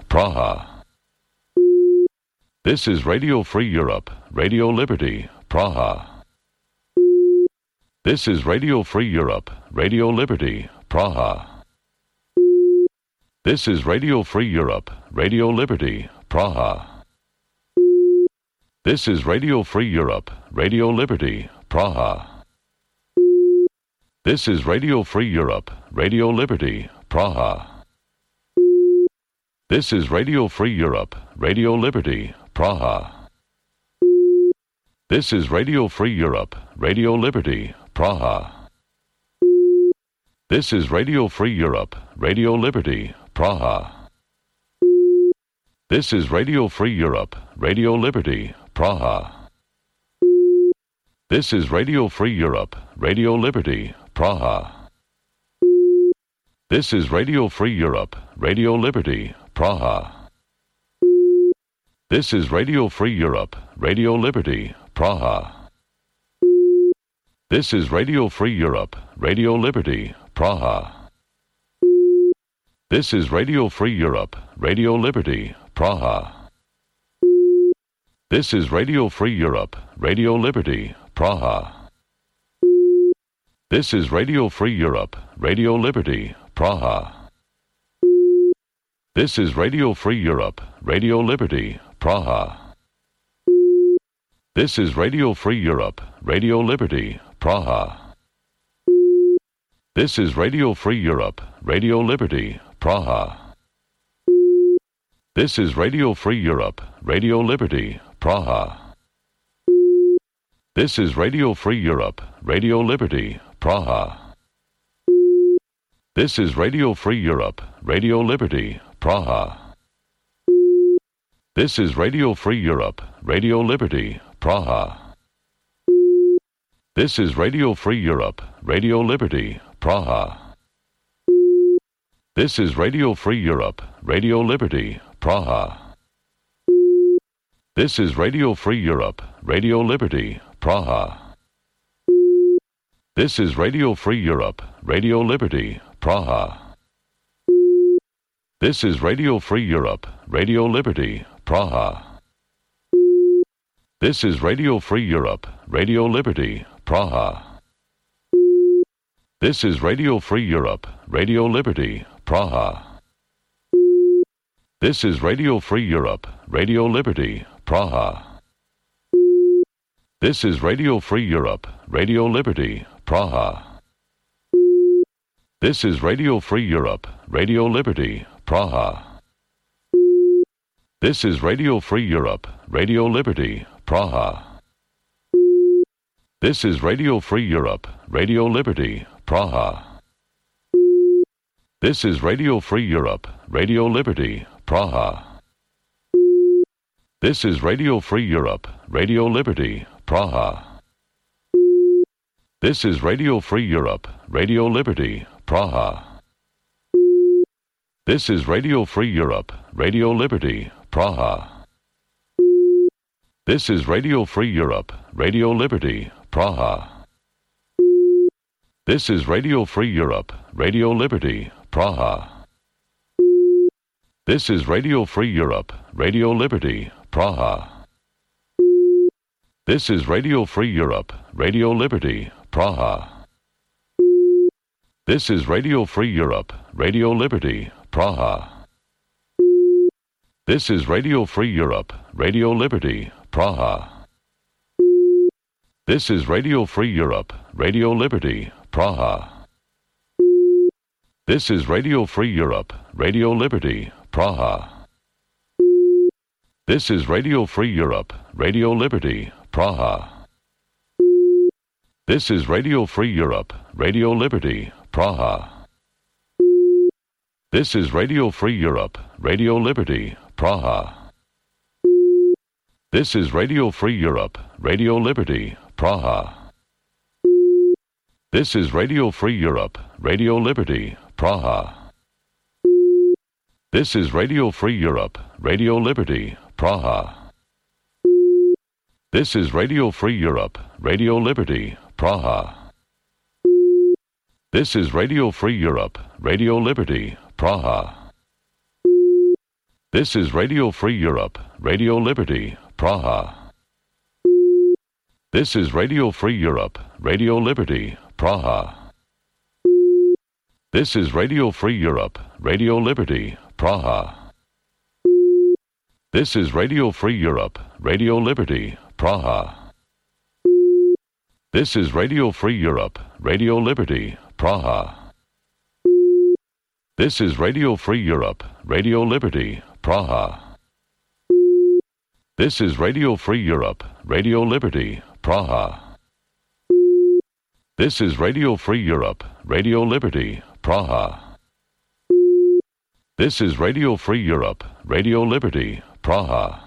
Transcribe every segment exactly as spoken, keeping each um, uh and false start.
Praha. This is Radio Free Europe, Radio Liberty, Praha. This is Radio Free Europe, Radio Liberty, Praha. This is Radio Free Europe, Radio Liberty, Praha. This is Radio Free Europe, Radio Liberty, Praha. This is Radio Free Europe, Radio Liberty, Praha. This is Radio Free Europe, Radio Liberty, Praha. This is Radio Free Europe, Radio Liberty, Praha. This is Radio Free Europe, Radio Liberty, Praha. This is Radio Free Europe, Radio Liberty, Praha. This is Radio Free Europe, Radio Liberty, Praha. This is Radio Free Europe, Radio Liberty, Praha. This is Radio Free Europe, Radio Liberty, Praha. This is Radio Free Europe, Radio Liberty, Praha. This is Radio Free Europe, Radio Liberty, Praha. This is Radio Free Europe, Radio Liberty, Praha. This is Radio Free Europe, Radio Liberty, Praha. This is Radio Free Europe, Radio Liberty, Praha. This is Radio Free Europe, Radio Liberty, Praha. This is Radio Free Europe, Radio Liberty, Praha. This is Radio Free Europe, Radio Liberty, Praha. This is Radio Free Europe, Radio Liberty, Praha. This is Radio Free Europe, Radio Liberty, Praha. This is Radio Free Europe, Radio Liberty, Praha. This is Radio Free Europe, Radio Liberty, Praha. This is Radio Free Europe, Radio Liberty, Praha. This is Radio Free Europe, Radio Liberty, Praha. This is Radio Free Europe, Radio Liberty, Praha. This is Radio Free Europe, Radio Liberty, Praha. This is Radio Free Europe, Radio Liberty, Praha. This is Radio Free Europe, Radio Liberty, Praha. This is Radio Free Europe, Radio Liberty, Praha. This is Radio Free Europe, Radio Liberty, Praha. This is Radio Free Europe, Radio Liberty, Praha. This is Radio Free Europe, Radio Liberty, Praha. This is Radio Free Europe, Radio Liberty, Praha. This is Radio Free Europe, Radio Liberty, Praha. This is Radio Free Europe, Radio Liberty, Praha. This is Radio Free Europe, Radio Liberty, Praha. This is Radio Free Europe, Radio Liberty, Praha. This is Radio Free Europe, Radio Liberty, Praha. This is Radio Free Europe, Radio Liberty, Praha. This is Radio Free Europe, Radio Liberty, Praha. This is Radio Free Europe, Radio Liberty, Praha. This is Radio Free Europe, Radio Liberty, Praha. This is Radio Free Europe, Radio Liberty, Praha. This is Radio Free Europe, Radio Liberty, Praha. This is Radio Free Europe, Radio Liberty, Praha. This is Radio Free Europe, Radio Liberty, Praha. This is Radio Free Europe, Radio Liberty, Praha. This is Radio Free Europe, Radio Liberty, Praha. This is Radio Free Europe, Radio Liberty, Praha. This is Radio Free Europe, Radio Liberty, Praha. This is Radio Free Europe, Radio Liberty, Praha. This is Radio Free Europe, Radio Liberty, Praha. This is Radio Free Europe, Radio Liberty, Praha. This is Radio Free Europe, Radio Liberty, Praha. This is Radio Free Europe, Radio Liberty, Praha. This is Radio Free Europe, Radio Liberty, Praha. This is Radio Free Europe, Radio Liberty, Praha. This is Radio Free Europe, Radio Liberty, Praha. This is Radio Free Europe, Radio Liberty, Praha. This is Radio Free Europe, Radio Liberty, Praha. This is Radio Free Europe, Radio Liberty, Praha. This is Radio Free Europe, Radio Liberty, Praha.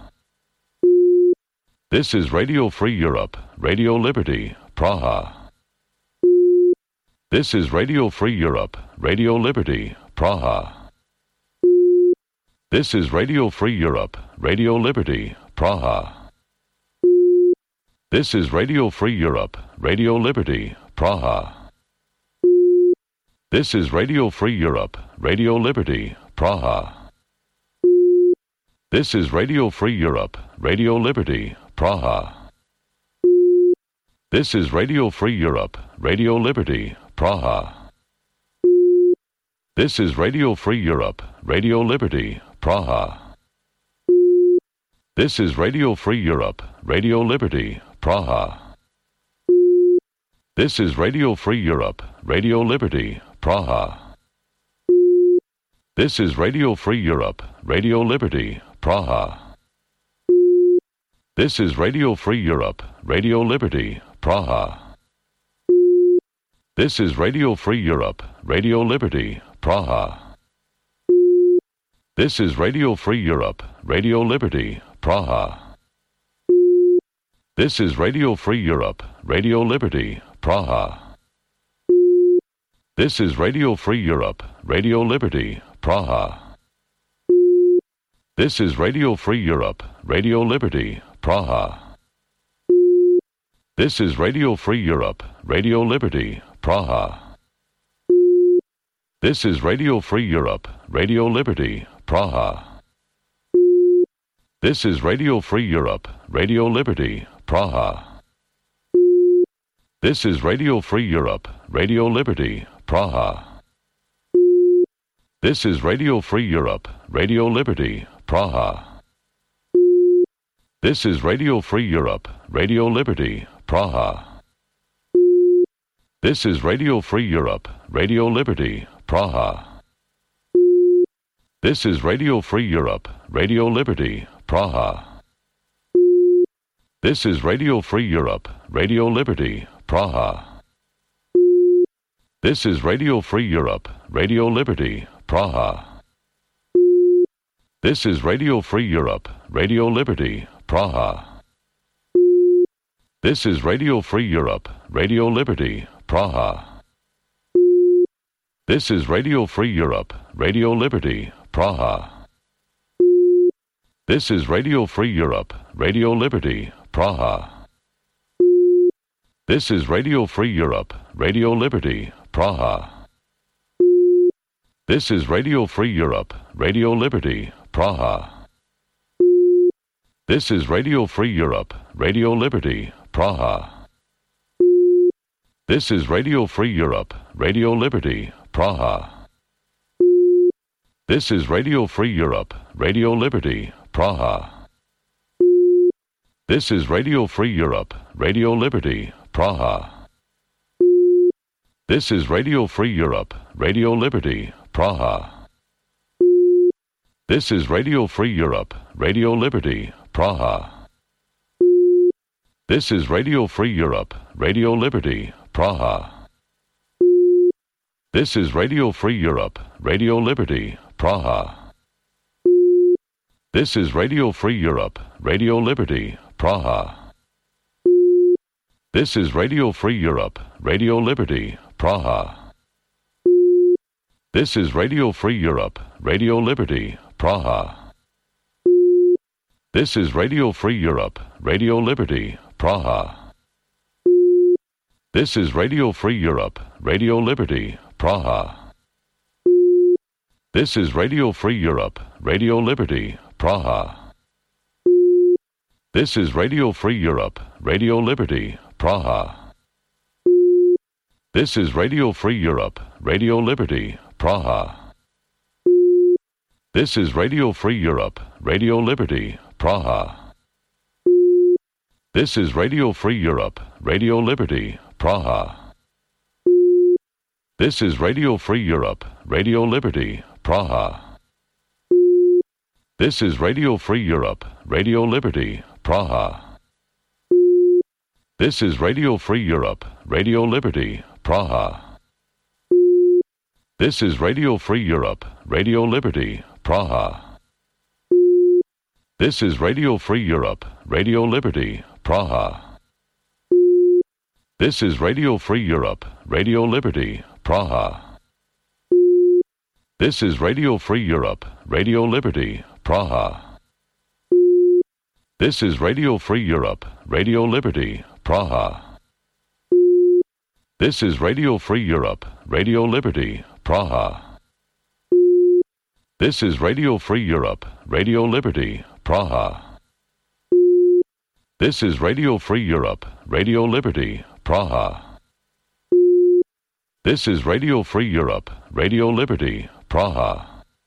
This is Radio Free Europe, Radio Liberty, Praha. This is Radio Free Europe, Radio Liberty, Praha. This is Radio Free Europe, Radio Liberty, Praha. This is Radio Free Europe, Radio Liberty, Praha. This is Radio Free Europe, Radio Liberty, Praha. This is Radio Free Europe, Radio Liberty, Praha. This is Radio Free Europe, Radio Liberty, Praha. This is Radio Free Europe, Radio Liberty, Praha. This is Radio Free Europe, Radio Liberty, Praha. This is Radio Free Europe, Radio Liberty, Praha. This is Radio Free Europe, Radio Liberty, Praha. This is Radio Free Europe, Radio Liberty, Praha. This is Radio Free Europe, Radio Liberty, Praha. This is Radio Free Europe, Radio Liberty, Praha. This is Radio Free Europe, Radio Liberty, Praha. This is Radio Free Europe, Radio Liberty, Praha. This is Radio Free Europe, Radio Liberty, Praha. This is Radio Free Europe, Radio Liberty, Praha. This is Radio Free Europe, Radio Liberty, Praha. This is Radio Free Europe, Radio Liberty, Praha. This is Radio Free Europe, Radio Liberty, Praha. This is Radio Free Europe, Radio Liberty, Praha. This is Radio Free Europe, Radio Liberty, Praha. This is Radio Free Europe, Radio Liberty, Praha. This is Radio Free Europe, Radio Liberty, Praha. This is Radio Free Europe, Radio Liberty, Praha. This is Radio Free Europe, Radio Liberty, Praha. This is Radio Free Europe, Radio Liberty, Praha. This is Radio Free Europe, Radio Liberty, Praha. This is Radio Free Europe, Radio Liberty, Praha. This is Radio Free Europe, Radio Liberty, Praha. This is Radio Free Europe, Radio Liberty, Praha. This is Radio Free Europe, Radio Liberty, Praha. This is Radio Free Europe, Radio Liberty, Praha. This is Radio Free Europe, Radio Liberty, Praha. This is Radio Free Europe, Radio Liberty, Praha. This is Radio Free Europe, Radio Liberty, Praha. This is Radio Free Europe, Radio Liberty, Praha. This is Radio Free Europe, Radio Liberty, Praha. This is Radio Free Europe, Radio Liberty, Praha. This is Radio Free Europe, Radio Liberty, Praha. This is Radio Free Europe, Radio Liberty, Praha. This is Radio Free Europe, Radio Liberty, Praha. This is Radio Free Europe, Radio Liberty, Praha. This is Radio Free Europe, Radio Liberty, Praha. This is Radio Free Europe, Radio Liberty, Praha. This is Radio Free Europe, Radio Liberty, Praha. This is Radio Free Europe, Radio Liberty, Praha. This is Radio Free Europe, Radio Liberty, Praha. This is Radio Free Europe, Radio Liberty, Praha. This is Radio Free Europe, Radio Liberty, Praha. This is Radio Free Europe, Radio Liberty, Praha. This is Radio Free Europe, Radio Liberty, Praha. This is Radio Free Europe, Radio Liberty, Praha. This is Radio Free Europe, Radio Liberty, Praha. This is Radio Free Europe, Radio Liberty, Praha. This is Radio Free Europe, Radio Liberty, Praha. This is Radio Free Europe, Radio Liberty, Praha. This is Radio Free Europe, Radio Liberty, Praha. This is Radio Free Europe, Radio Liberty, Praha. This is Radio Free Europe, Radio Liberty, Praha. This is Radio Free Europe, Radio Liberty, Praha. This is Radio Free Europe, Radio Liberty, Praha.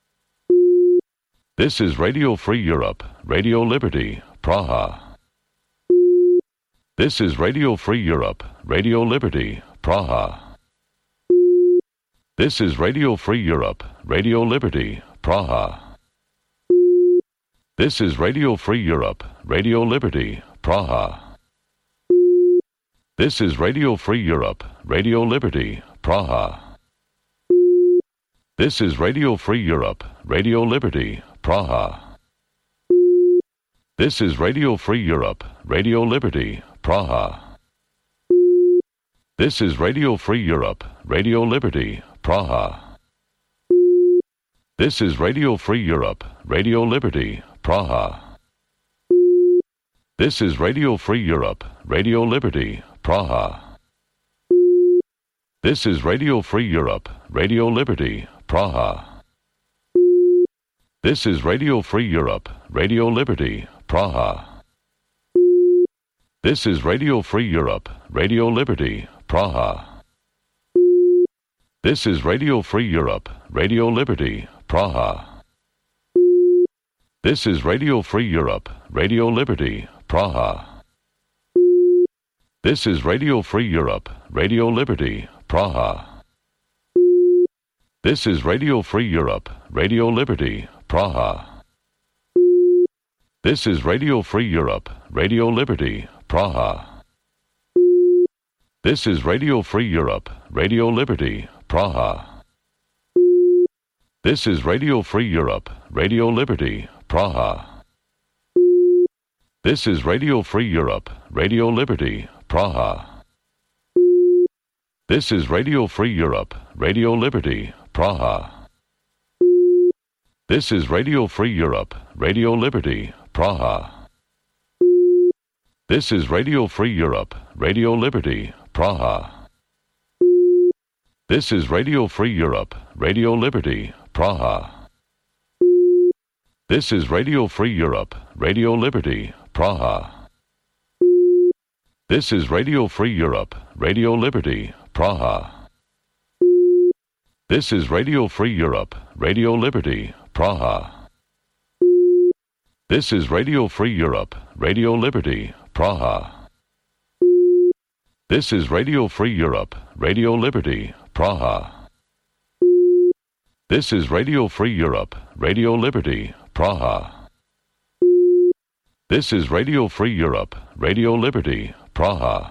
This is Radio Free Europe, Radio Liberty, Praha. This is Radio Free Europe, Radio Liberty, Praha. This is Radio Free Europe, Radio Liberty, Praha. This is Radio Free Europe, Radio Liberty, Praha. This is Radio Free Europe, Radio Liberty, Praha. This is Radio Free Europe, Radio Liberty, Praha. This is Radio Free Europe, Radio Liberty, Praha. This is Radio Free Europe, Radio Liberty, Praha. This is Radio Free Europe, Radio Liberty, Praha. This is Radio Free Europe, Radio Liberty, Praha. This is Radio Free Europe, Radio Liberty, Praha. This is Radio Free Europe, Radio Liberty, Praha. This is Radio Free Europe, Radio Liberty, Praha. This is Radio Free Europe, Radio Liberty, Praha. This is Radio Free Europe, Radio Liberty, Praha. This is Radio Free Europe, Radio Liberty, Praha. This is Radio Free Europe, Radio Liberty, Praha. This is Radio Free Europe, Radio Liberty, Praha. This is Radio Free Europe, Radio Liberty, Praha. This is Radio Free Europe, Radio Liberty, Praha. This is Radio Free Europe, Radio Liberty, Praha. This is Radio Free Europe, Radio Liberty, Praha. This is Radio Free Europe, Radio Liberty, Praha. This is Radio Free Europe, Radio Liberty, Praha. This is Radio Free Europe, Radio Liberty, Praha. This is Radio Free Europe, Radio Liberty, Praha. This is Radio Free Europe, Radio Liberty, Praha. This is Radio Free Europe, Radio Liberty, Praha. This is Radio Free Europe, Radio Liberty, Praha. This is Radio Free Europe, Radio Liberty, Praha. This is Radio Free Europe, Radio Liberty, Praha. This is Radio Free Europe, Radio Liberty, Praha.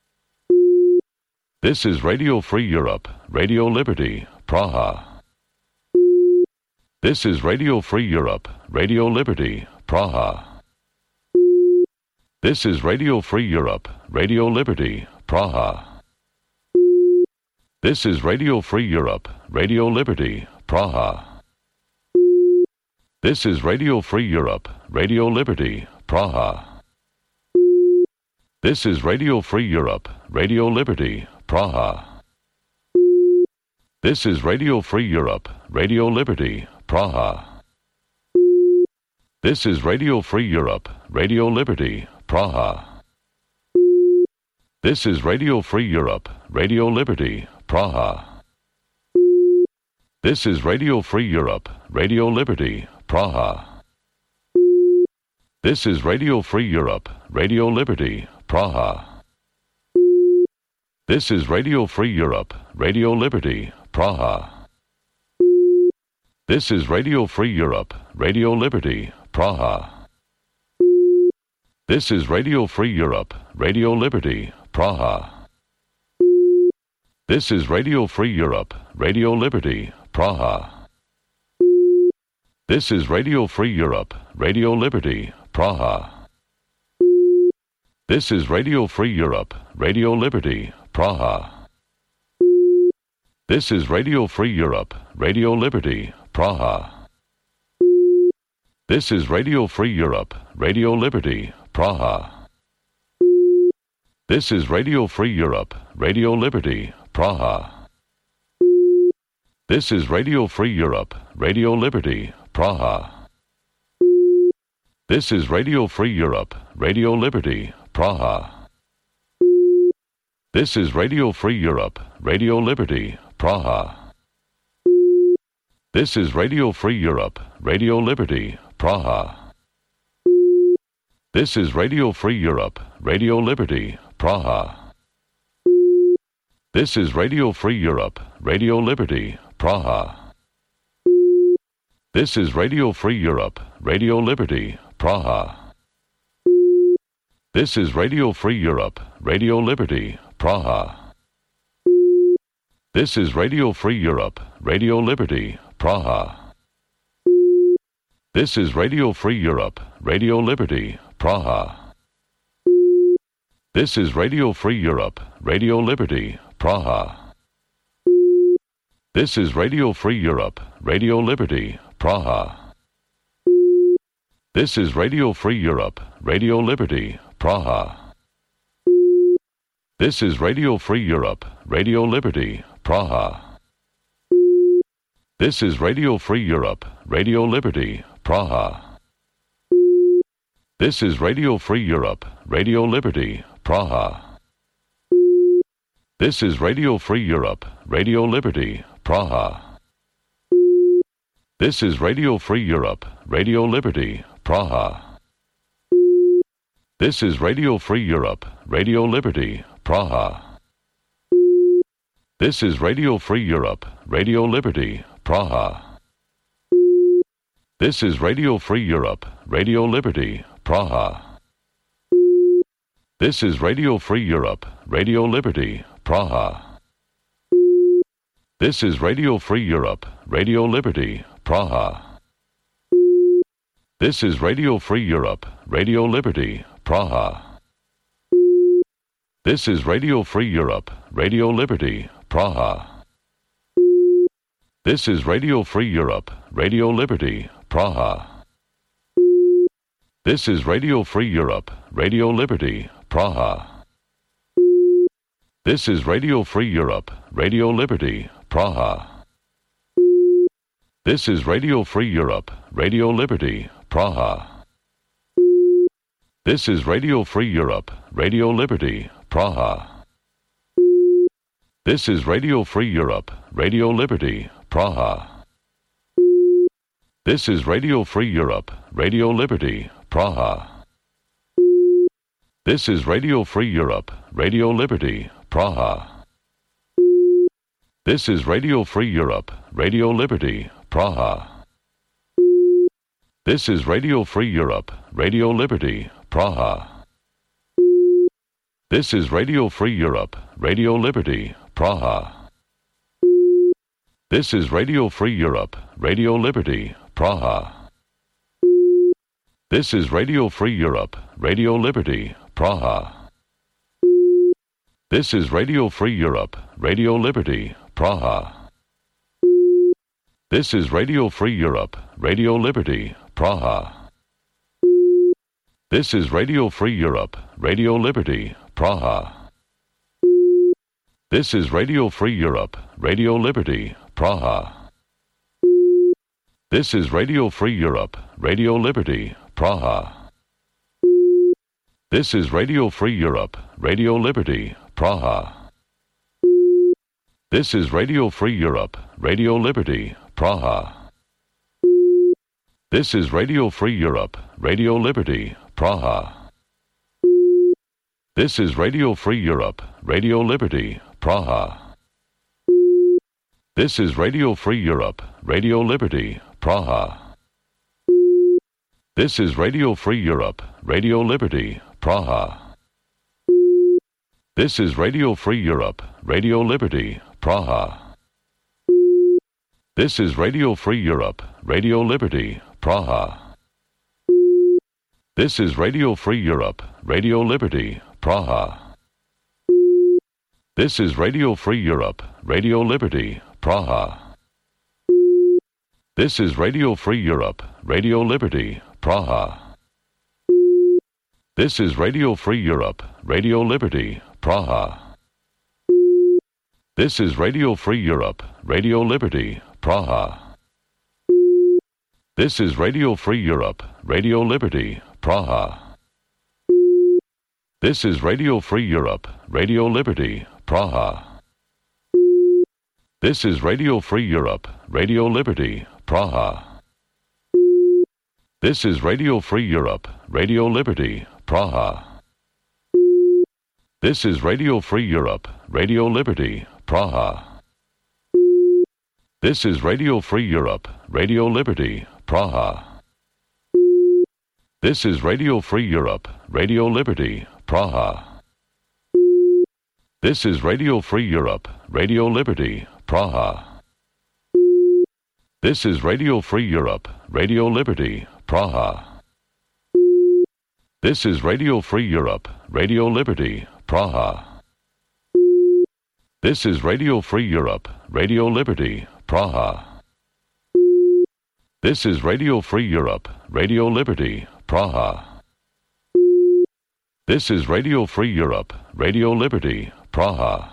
This is Radio Free Europe, Radio Liberty, Praha. This is Radio Free Europe, Radio Liberty, Praha. This is Radio Free Europe, Radio Liberty, Praha. This is Radio Free Europe, Radio Liberty, Praha. This is Radio Free Europe, Radio Liberty, Praha. This is Radio Free Europe, Radio Liberty, Praha. This is Radio Free Europe, Radio Liberty, Praha. This is Radio Free Europe, Radio Liberty, Praha. This is Radio Free Europe, Radio Liberty, Praha. This is Radio Free Europe, Radio Liberty, Praha. This is Radio Free Europe, Radio Liberty, Praha. This is Radio Free Europe, Radio Liberty, Praha. This is Radio Free Europe, Radio Liberty, Praha. This is Radio Free Europe, Radio Liberty, Praha. This is Radio Free Europe, Radio Liberty, Praha. This is Radio Free Europe, Radio Liberty, Praha. This is Radio Free Europe, Radio Liberty, Praha. This is Radio Free Europe, Radio Liberty, Praha. This is Radio Free Europe, Radio Liberty, Praha. This is Radio Free Europe, Radio Liberty, Praha. This is Radio Free Europe, Radio Liberty, Praha. This is Radio Free Europe, Radio Liberty, Praha. This is Radio Free Europe, Radio Liberty, Praha. This is Radio Free Europe, Radio Liberty, Praha. This is Radio Free Europe, Radio Liberty, Praha. This is Radio Free Europe, Radio Liberty, Praha. This is Radio Free Europe, Radio Liberty, Praha. This is Radio Free Europe, Radio Liberty, Praha. This is Radio Free Europe, Radio Liberty, Praha. This is Radio Free Europe, Radio Liberty, Praha. This is Radio Free Europe, Radio Liberty, Praha. This is Radio Free Europe, Radio Liberty, Praha. This is Radio Free Europe, Radio Liberty, Praha. This is Radio Free Europe, Radio Liberty, Praha. This is Radio Free Europe, Radio Liberty, Praha. This is Radio Free Europe, Radio Liberty, Praha. This is Radio Free Europe, Radio Liberty, Praha. This is Radio Free Europe, Radio Liberty, Praha. This is Radio Free Europe, Radio Liberty, Praha. This is Radio Free Europe, Radio Liberty, Praha. This is Radio Free Europe, Radio Liberty, Praha. This is Radio Free Europe, Radio Liberty, Praha. This is Radio Free Europe, Radio Liberty, Praha. This is Radio Free Europe, Radio Liberty, Praha. This is Radio Free Europe, Radio Liberty, Praha. This is Radio Free Europe, Radio Liberty, Praha. This is Radio Free Europe, Radio Liberty, Praha. This is Radio Free Europe, Radio Liberty, Praha. This is Radio Free Europe, Radio Liberty, Praha. This is Radio Free Europe, Radio Liberty, Praha. This is Radio Free Europe, Radio Liberty, Praha. This is Radio Free Europe, Radio Liberty, Praha. This is Radio Free Europe, Radio Liberty, Praha. This is Radio Free Europe, Radio Liberty, Praha. This is Radio Free Europe, Radio Liberty, Praha. This is Radio Free Europe, Radio Liberty, Praha. This is Radio Free Europe, Radio Liberty, Praha. This is Radio Free Europe, Radio Liberty, Praha. This is Radio Free Europe, Radio Liberty, Praha. This is Radio Free Europe, Radio Liberty, Praha. This is Radio Free Europe, Radio Liberty, Praha. This is Radio Free Europe, Radio Liberty, Praha. This is Radio Free Europe, Radio Liberty, Praha. This is Radio Free Europe, Radio Liberty, Praha. This is Radio Free Europe, Radio Liberty, Praha. This is Radio Free Europe, Radio Liberty, Praha. This is Radio Free Europe, Radio Liberty, Praha. This is Radio Free Europe, Radio Liberty, Praha. This is Radio Free Europe, Radio Liberty, Praha. This is Radio Free Europe, Radio Liberty, Praha. This is Radio Free Europe, Radio Liberty, Praha. This is Radio Free Europe, Radio Liberty, Praha. This is Radio Free Europe, Radio Liberty, Praha. This is Radio Free Europe, Radio Liberty, Praha. This is Radio Free Europe, Radio Liberty, Praha. This is Radio Free Europe, Radio Liberty, Praha. This is Radio Free Europe, Radio Liberty, Praha. This is Radio Free Europe, Radio Liberty, Praha. This is Radio Free Europe, Radio Liberty, Praha. This is Radio Free Europe, Radio Liberty, Praha. This is Radio Free Europe, Radio Liberty, Praha. This is Radio Free Europe, Radio Liberty, Praha. This is Radio Free Europe, Radio Liberty, Praha. This is Radio Free Europe, Radio Liberty, Praha. This is Radio Free Europe, Radio Liberty, Praha. This is Radio Free Europe, Radio Liberty, Praha. This is Radio Free Europe, Radio Liberty, Praha. This is Radio Free Europe, Radio Liberty, Praha. This is Radio Free Europe, Radio Liberty, Praha.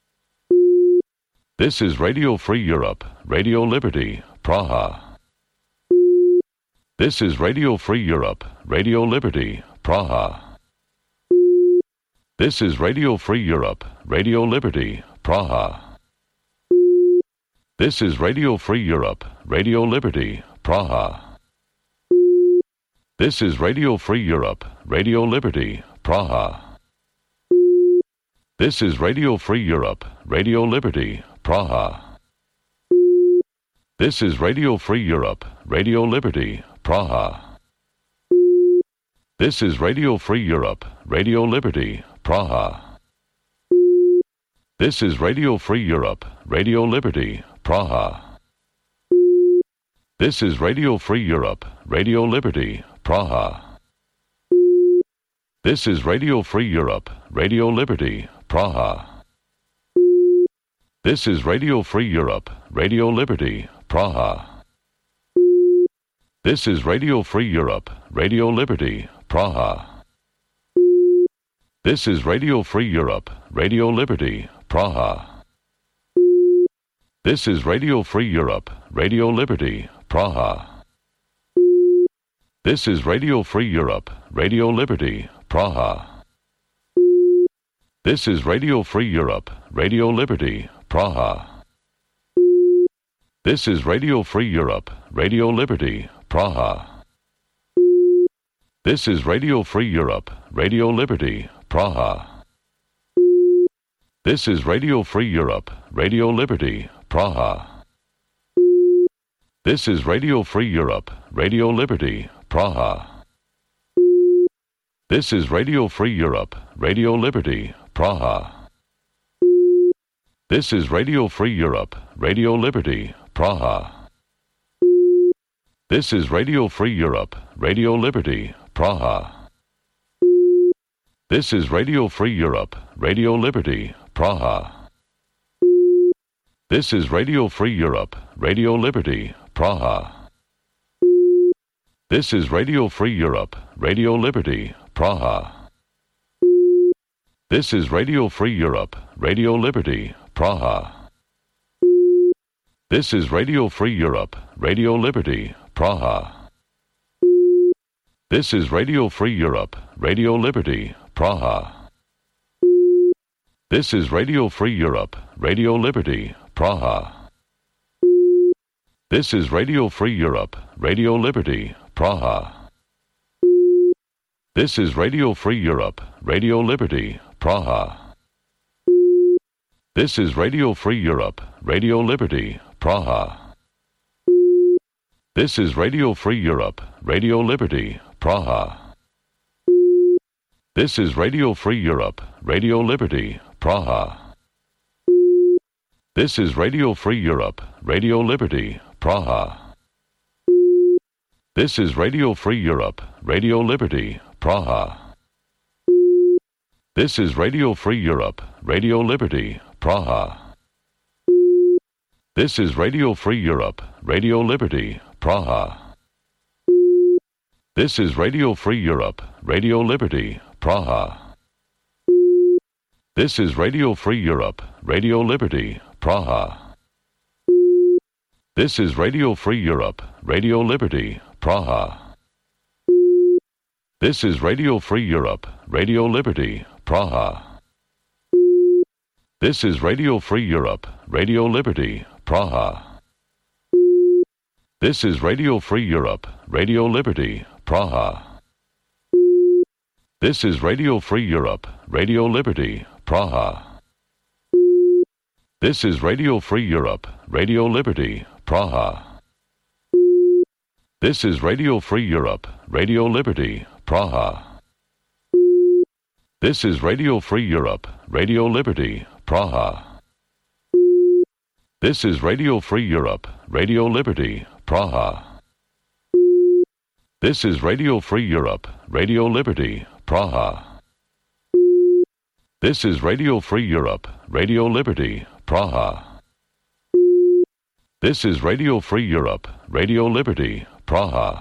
This is Radio Free Europe, Radio Liberty, Praha. This is Radio Free Europe, Radio Liberty, Praha. This is Radio Free Europe, Radio Liberty, Praha. This is Radio Free Europe, Radio Liberty, Praha. This is Radio Free Europe, Radio Liberty, Praha. This is Radio Free Europe, Radio Liberty, Praha. This is Radio Free Europe, Radio Liberty, Praha. This is Radio Free Europe, Radio Liberty, Praha. This is Radio Free Europe, Radio Liberty, Praha. This is Radio Free Europe, Radio Liberty, Praha. This is Radio Free Europe, Radio Liberty, Praha. This is Radio Free Europe, Radio Liberty, Praha. This is Radio Free Europe, Radio Liberty, Praha. This is Radio Free Europe, Radio Liberty, Praha. This is Radio Free Europe, Radio Liberty, Praha. This is Radio Free Europe, Radio Liberty, Praha. This is Radio Free Europe, Radio Liberty, Praha. This is Radio Free Europe, Radio Liberty, Praha. This is Radio Free Europe, Radio Liberty, Praha. This is Radio Free Europe, Radio Liberty, Praha. This is Radio Free Europe, Radio Liberty, Praha. This is Radio Free Europe, Radio Liberty, Praha. This is Radio Free Europe, Radio Liberty, Praha. This is Radio Free Europe, Radio Liberty, Praha. This is Radio Free Europe, Radio Liberty, Praha. This is Radio Free Europe, Radio Liberty, Praha. This is Radio Free Europe, Radio Liberty, Praha. This is Radio Free Europe, Radio Liberty, Praha. This is Radio Free Europe, Radio Liberty, Praha. This is Radio Free Europe, Radio Liberty, Praha. This is Radio Free Europe, Radio Liberty, Praha. This is Radio Free Europe, Radio Liberty, Praha. This is Radio Free Europe, Radio Liberty, Praha. This is Radio Free Europe, Radio Liberty, Praha. This is Radio Free Europe, Radio Liberty, Praha. This is Radio Free Europe, Radio Liberty, Praha. This is Radio Free Europe, Radio Liberty, Praha. This is Radio Free Europe, Radio Liberty, Praha. This is Radio Free Europe, Radio Liberty, Praha. This is Radio Free Europe, Radio Liberty, Praha. This is Radio Free Europe, Radio Liberty, Praha. This is Radio Free Europe, Radio Liberty, Praha. This is Radio Free Europe, Radio Liberty, Praha. This is Radio Free Europe, Radio Liberty, Praha. This is Radio Free Europe, Radio Liberty, Praha. This is Radio Free Europe, Radio Liberty, Praha. This is Radio Free Europe, Radio Liberty, Praha. This is Radio Free Europe, Radio Liberty, Praha. This is Radio Free Europe, Radio Liberty, Praha. This is Radio Free Europe, Radio Liberty, Praha. This is Radio Free Europe, Radio Liberty, Praha. This is Radio Free Europe, Radio Liberty, Praha. This is Radio Free Europe, Radio Liberty, Praha. This is Radio Free Europe, Radio Liberty, Praha.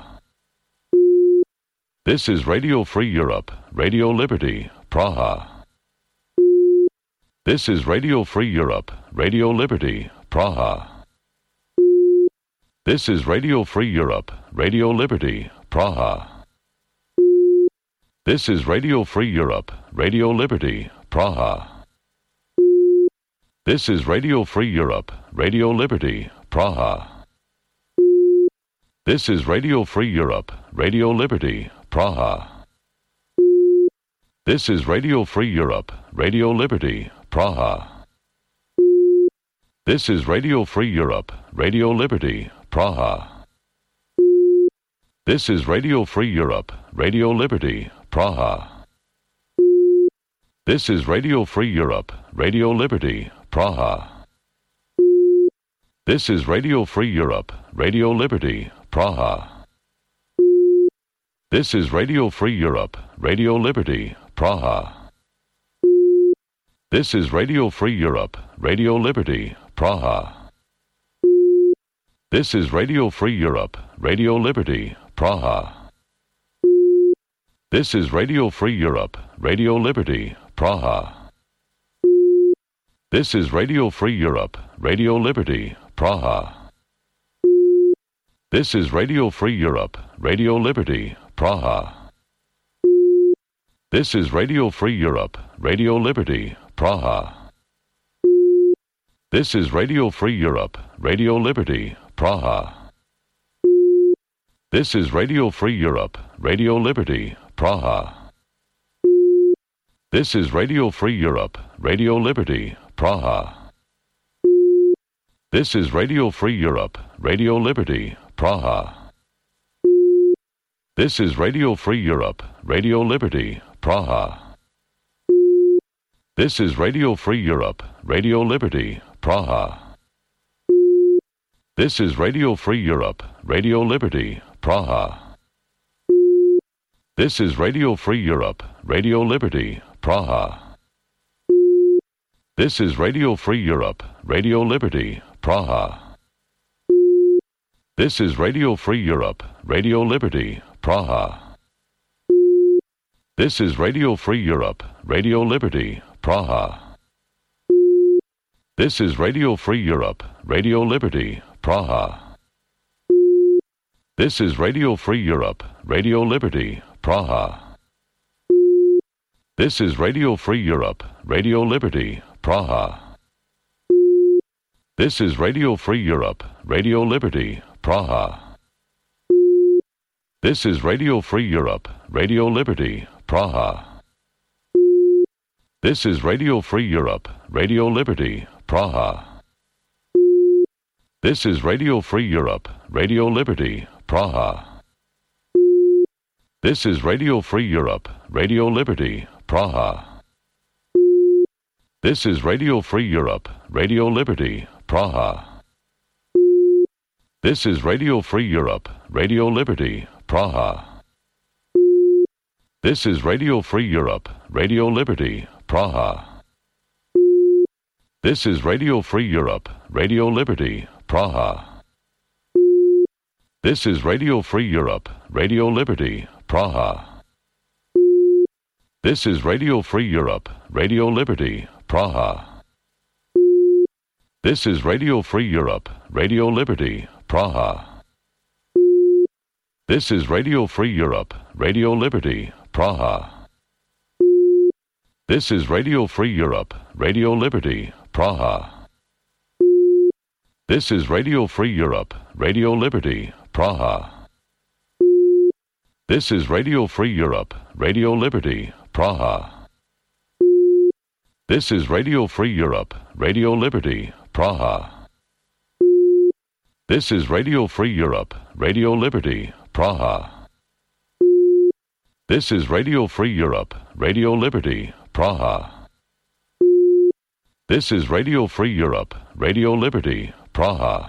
This is Radio Free Europe, Radio Liberty, Praha. This is Radio Free Europe, Radio Liberty, Praha. This is Radio Free Europe, Radio Liberty, Praha. This is Radio Free Europe, Radio Liberty, Praha. This is Radio Free Europe, Radio Liberty, Praha. This is Radio Free Europe, Radio Liberty, Praha. This is Radio Free Europe, Radio Liberty, Praha. This is Radio Free Europe, Radio Liberty, Praha. This is Radio Free Europe, Radio Liberty, Praha. This is Radio Free Europe, Radio Liberty, Praha. This is Radio Free Europe, Radio Liberty, Praha. This is Radio Free Europe, Radio Liberty, Praha. This is Radio Free Europe, Radio Liberty, Praha. This is Radio Free Europe, Radio Liberty, Praha. This is Radio Free Europe, Radio Liberty, Praha. This is Radio Free Europe, Radio Liberty, Praha. This is Radio Free Europe, Radio Liberty, Praha. This is Radio Free Europe, Radio Liberty, Praha. This is Radio Free Europe, Radio Liberty, Praha. This is Radio Free Europe, Radio Liberty, Praha. This is Radio Free Europe, Radio Liberty, Praha. This is Radio Free Europe, Radio Liberty, Praha. This is Radio Free Europe, Radio Liberty, Praha. This is Radio Free Europe, Radio Liberty, Praha. This is Radio Free Europe, Radio Liberty, Praha. This is Radio Free Europe, Radio Liberty, Praha. This is Radio Free Europe, Radio Liberty, Praha. This is Radio Free Europe, Radio Liberty, Praha. This is Radio Free Europe, Radio Liberty, Praha. This is Radio Free Europe, Radio Liberty, Praha. This is Radio Free Europe, Radio Liberty, Praha. This is Radio Free Europe, Radio Liberty, Praha. This is Radio Free Europe, Radio Liberty, Praha. This is Radio Free Europe, Radio Liberty, Praha. This is Radio Free Europe, Radio Liberty, Praha. This is Radio Free Europe, Radio Liberty, Praha. This is Radio Free Europe, Radio Liberty, Praha. This is Radio Free Europe, Radio Liberty, Praha. This is Radio Free Europe, Radio Liberty, Praha. This is Radio Free Europe, Radio Liberty, Praha. This is Radio Free Europe, Radio Liberty, Praha. This is Radio Free Europe, Radio Liberty, Praha. This is Radio Free Europe, Radio Liberty, Praha. This is Radio Free Europe, Radio Liberty, Praha. This is Radio Free Europe, Radio Liberty, Praha. This is Radio Free Europe, Radio Liberty, Praha. This is Radio Free Europe, Radio Liberty, Praha. This is Radio Free Europe, Radio Liberty, Praha. This is Radio Free Europe, Radio Liberty, Praha. This is Radio Free Europe, Radio Liberty, Praha. This is Radio Free Europe, Radio Liberty, Praha. This is Radio Free Europe, Radio Liberty, Praha.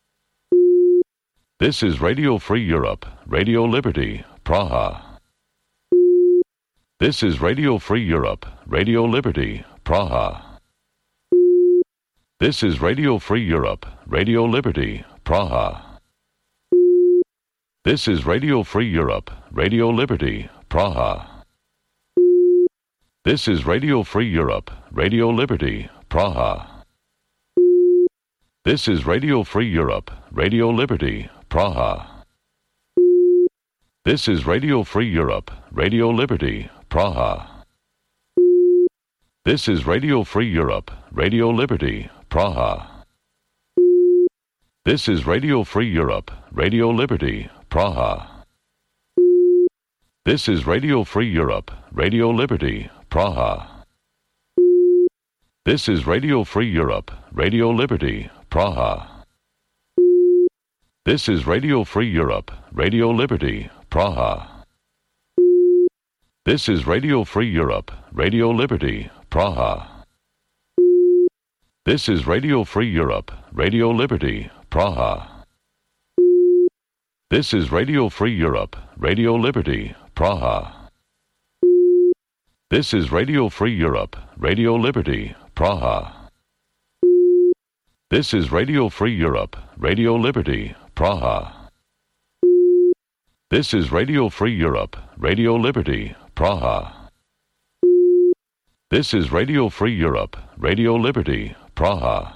This is Radio Free Europe, Radio Liberty, Praha. This is Radio Free Europe, Radio Liberty, Praha. This is Radio Free Europe, Radio Liberty, Praha. This is Radio Free Europe, Radio Liberty, Praha. This is Radio Free Europe, Radio Liberty, Praha. This is Radio Free Europe, Radio Liberty, Praha. This is Radio Free Europe, Radio Liberty, Praha. This is Radio Free Europe, Radio Liberty, Praha. This is Radio Free Europe, Radio Liberty, Praha. This is Radio Free Europe, Radio Liberty, Praha. This is Radio Free Europe, Radio Liberty, Praha. This is Radio Free Europe, Radio Liberty, Praha. This is Radio Free Europe, Radio Liberty, Praha. This is Radio Free Europe, Radio Liberty, Praha. This is Radio Free Europe, Radio Liberty, Praha. This is Radio Free Europe, Radio Liberty, Praha. This is Radio Free Europe, Radio Liberty, Praha. This is Radio Free Europe, Radio Liberty, Praha. This is Radio Free Europe, Radio Liberty, Praha.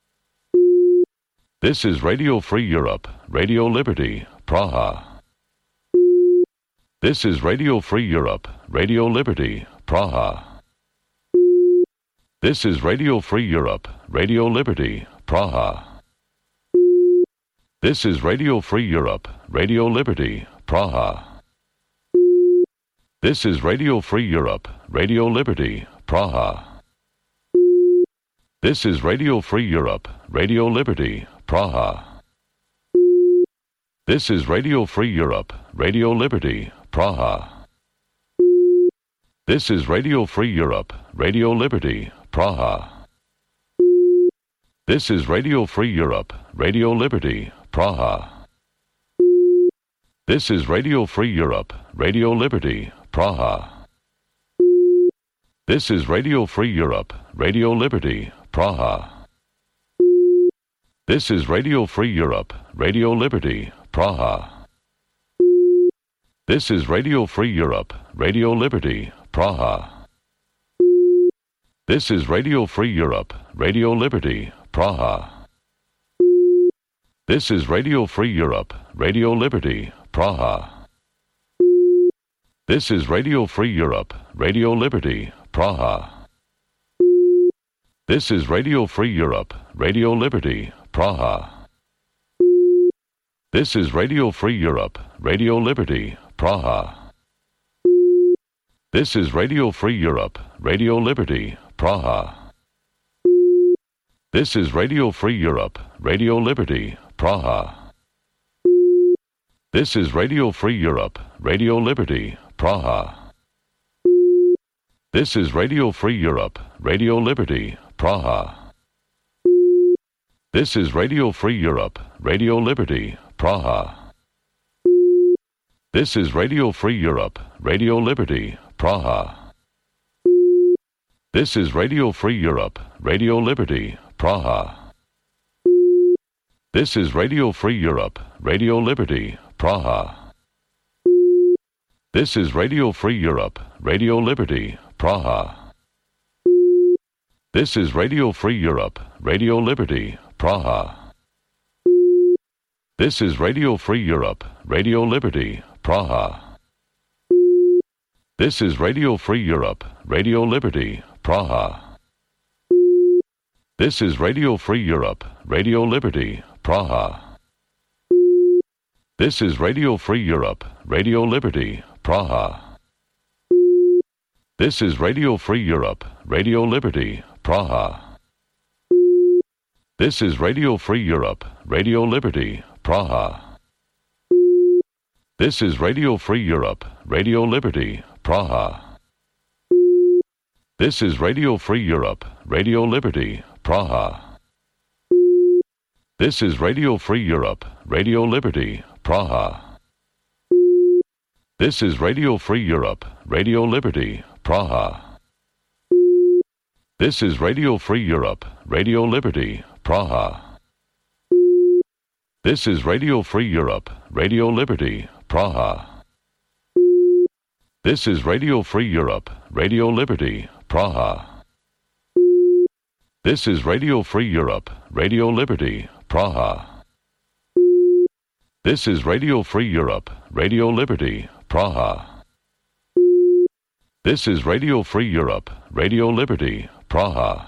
This is Radio Free Europe, Radio Liberty, Praha. This is Radio Free Europe, Radio Liberty, Praha. This is Radio Free Europe, Radio Liberty, Praha. This is Radio Free Europe, Radio Liberty, Praha. This is Radio Free Europe, Radio Liberty, Praha. This is Radio Free Europe, Radio Liberty, Praha. This is Radio Free Europe, Radio Liberty, Praha. This is Radio Free Europe, Radio Liberty, Praha. This is Radio Free Europe, Radio Liberty, Praha. This is Radio Free Europe, Radio Liberty, Praha. This is Radio Free Europe, Radio Liberty, Praha. This is Radio Free Europe, Radio Liberty, Praha. This is Radio Free Europe, Radio Liberty, Praha. This is Radio Free Europe, Radio Liberty, Praha. This is Radio Free Europe, Radio Liberty, Praha. This is Radio Free Europe, Radio Liberty, Praha. This is Radio Free Europe, Radio Liberty, Praha. This is Radio Free Europe, Radio Liberty, Praha. This is Radio Free Europe, Radio Liberty, Praha. This is Radio Free Europe, Radio Liberty, Praha. This is Radio Free Europe, Radio Liberty, Praha. This is Radio Free Europe, Radio Liberty, Praha. This is Radio Free Europe, Radio Liberty, Praha. This is Radio Free Europe, Radio Liberty, Praha. This is Radio Free Europe, Radio Liberty, Praha. This is Radio Free Europe, Radio Liberty, Praha. This is Radio Free Europe, Radio Liberty, Praha. This is Radio Free Europe, Radio Liberty, Praha. This is Radio Free Europe, Radio Liberty, Praha. This is Radio Free Europe, Radio Liberty, Praha. This is Radio Free Europe, Radio Liberty, Praha. This is Radio Free Europe, Radio Liberty, Praha. This is Radio Free Europe, Radio Liberty, Praha. This is Radio Free Europe, Radio Liberty, Praha. This is Radio Free Europe, Radio Liberty, Praha. This is Radio Free Europe, Radio Liberty, Praha. This is Radio Free Europe, Radio Liberty, Praha. This is Radio Free Europe, Radio Liberty, Praha. This is Radio Free Europe, Radio Liberty, Praha. This is Radio Free Europe, Radio Liberty, Praha. This is Radio Free Europe, Radio Liberty, Praha. This is Radio Free Europe, Radio Liberty, Praha. This is Radio Free Europe, Radio Liberty, Praha. This is Radio Free Europe, Radio Liberty, Praha.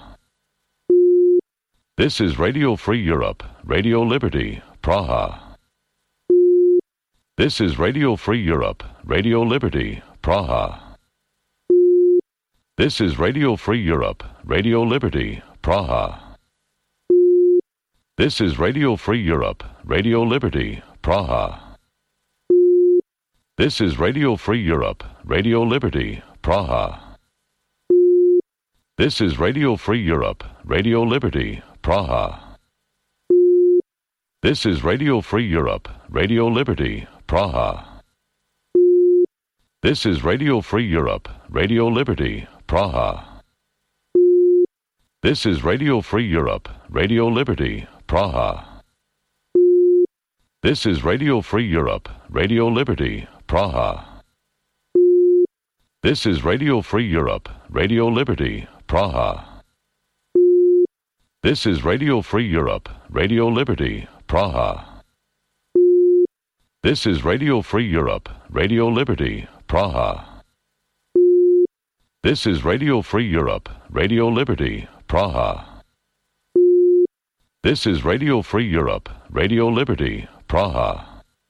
This is Radio Free Europe, Radio Liberty, Praha. This is Radio Free Europe, Radio Liberty, Praha. This is Radio Free Europe, Radio Liberty, Praha. This is Radio Free Europe, Radio Liberty, Praha. This is Radio Free Europe, Radio Liberty, Praha. This is Radio Free Europe, Radio Liberty, Praha. This is Radio Free Europe, Radio Liberty, Praha. This is Radio Free Europe, Radio Liberty, Praha. This is Radio Free Europe, Radio Liberty, Praha. This is Radio Free Europe, Radio Liberty, Praha. This is Radio Free Europe, Radio Liberty, Praha. This is Radio Free Europe, Radio Liberty, Praha. This is Radio Free Europe, Radio Liberty, Praha. This is Radio Free Europe, Radio Liberty, Praha. This is Radio Free Europe, Radio Liberty, Praha.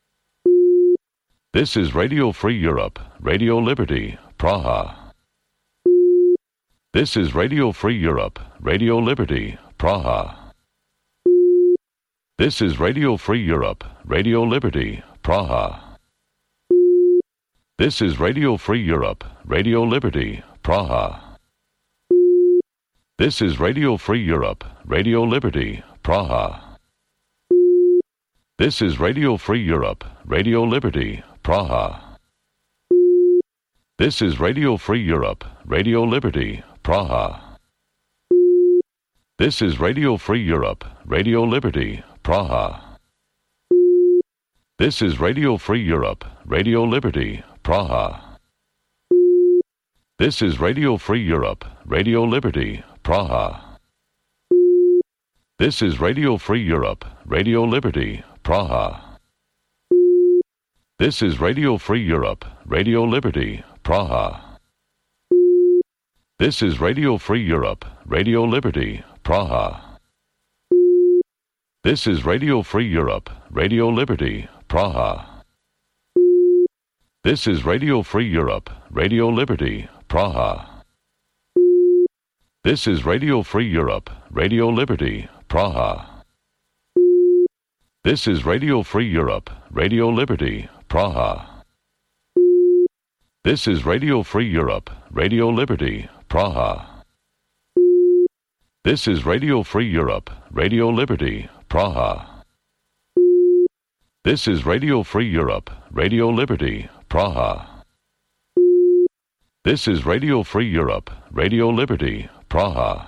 This is Radio Free Europe, Radio Liberty, Praha. This is Radio Free Europe, Radio Liberty, Praha. This is Radio Free Europe, Radio Liberty, Praha. This is Radio Free Europe, Radio Liberty, Praha. This is Radio Free Europe, Radio Liberty, Praha. This is Radio Free Europe, Radio Liberty, Praha. This is Radio Free Europe, Radio Liberty, Praha. This is Radio Free Europe, Radio Liberty, Praha. This is Radio Free Europe, Radio Liberty, Praha. This is Radio Free Europe, Radio Liberty, Praha. This is Radio Free Europe, Radio Liberty, Praha. This is Radio Free Europe, Radio Liberty, Praha. This is Radio Free Europe, Radio Liberty, Praha. This is Radio Free Europe, Radio Liberty, Praha. This is Radio Free Europe, Radio Liberty, Praha. This is Radio Free Europe, Radio Liberty, Praha. This is Radio Free Europe, Radio Liberty, Praha. This is Radio Free Europe, Radio Liberty, Praha. This is Radio Free Europe, Radio Liberty, Praha. This is Radio Free Europe, Radio Liberty, Praha. This is Radio Free Europe, Radio Liberty, Praha.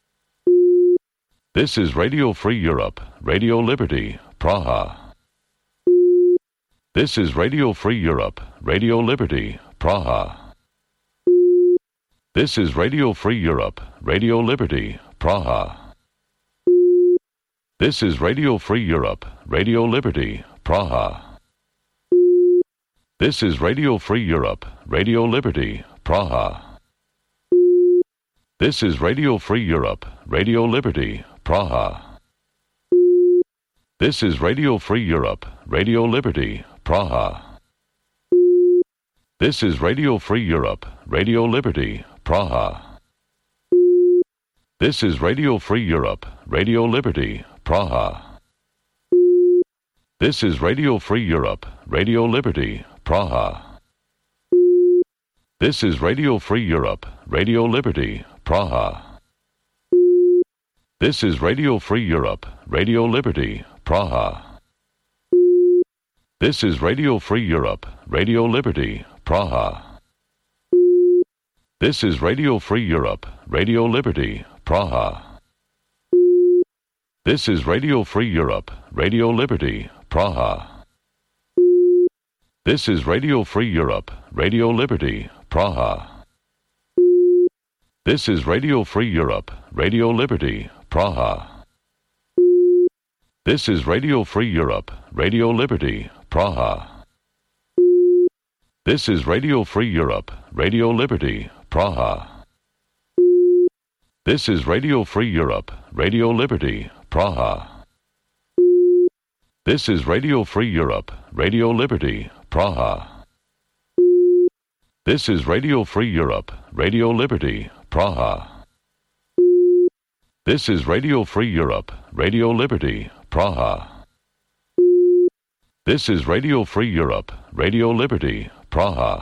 This is Radio Free Europe, Radio Liberty, Praha. This is Radio Free Europe, Radio Liberty, Praha. This is Radio Free Europe, Radio Liberty, Praha. This is Radio Free Europe, Radio Liberty, Praha. This is Radio Free Europe, Radio Liberty, Praha. This is Radio Free Europe, Radio Liberty, Praha. This is Radio Free Europe, Radio Liberty, Praha. This is Radio Free Europe, Radio Liberty, Praha. This is Radio Free Europe, Radio Liberty, Praha. This is Radio Free Europe, Radio Liberty, Praha. This is Radio Free Europe, Radio Liberty, Praha. This is Radio Free Europe, Radio Liberty, Praha. This is Radio Free Europe, Radio Liberty, Praha. This is Radio Free Europe, Radio Liberty, Praha. This is Radio Free Europe, Radio Liberty, Praha. This is Radio Free Europe, Radio Liberty, Praha. This is Radio Free Europe, Radio Liberty, Praha. This is Radio Free Europe, Radio Liberty, Praha. This is Radio Free Europe, Radio Liberty, Praha. This is Radio Free Europe, Radio Liberty, Praha. This is Radio Free Europe, Radio Liberty, Praha. This is Radio Free Europe, Radio Liberty, Praha. This is Radio Free Europe, Radio Liberty, Praha. This is Radio Free Europe, Radio Liberty, Praha.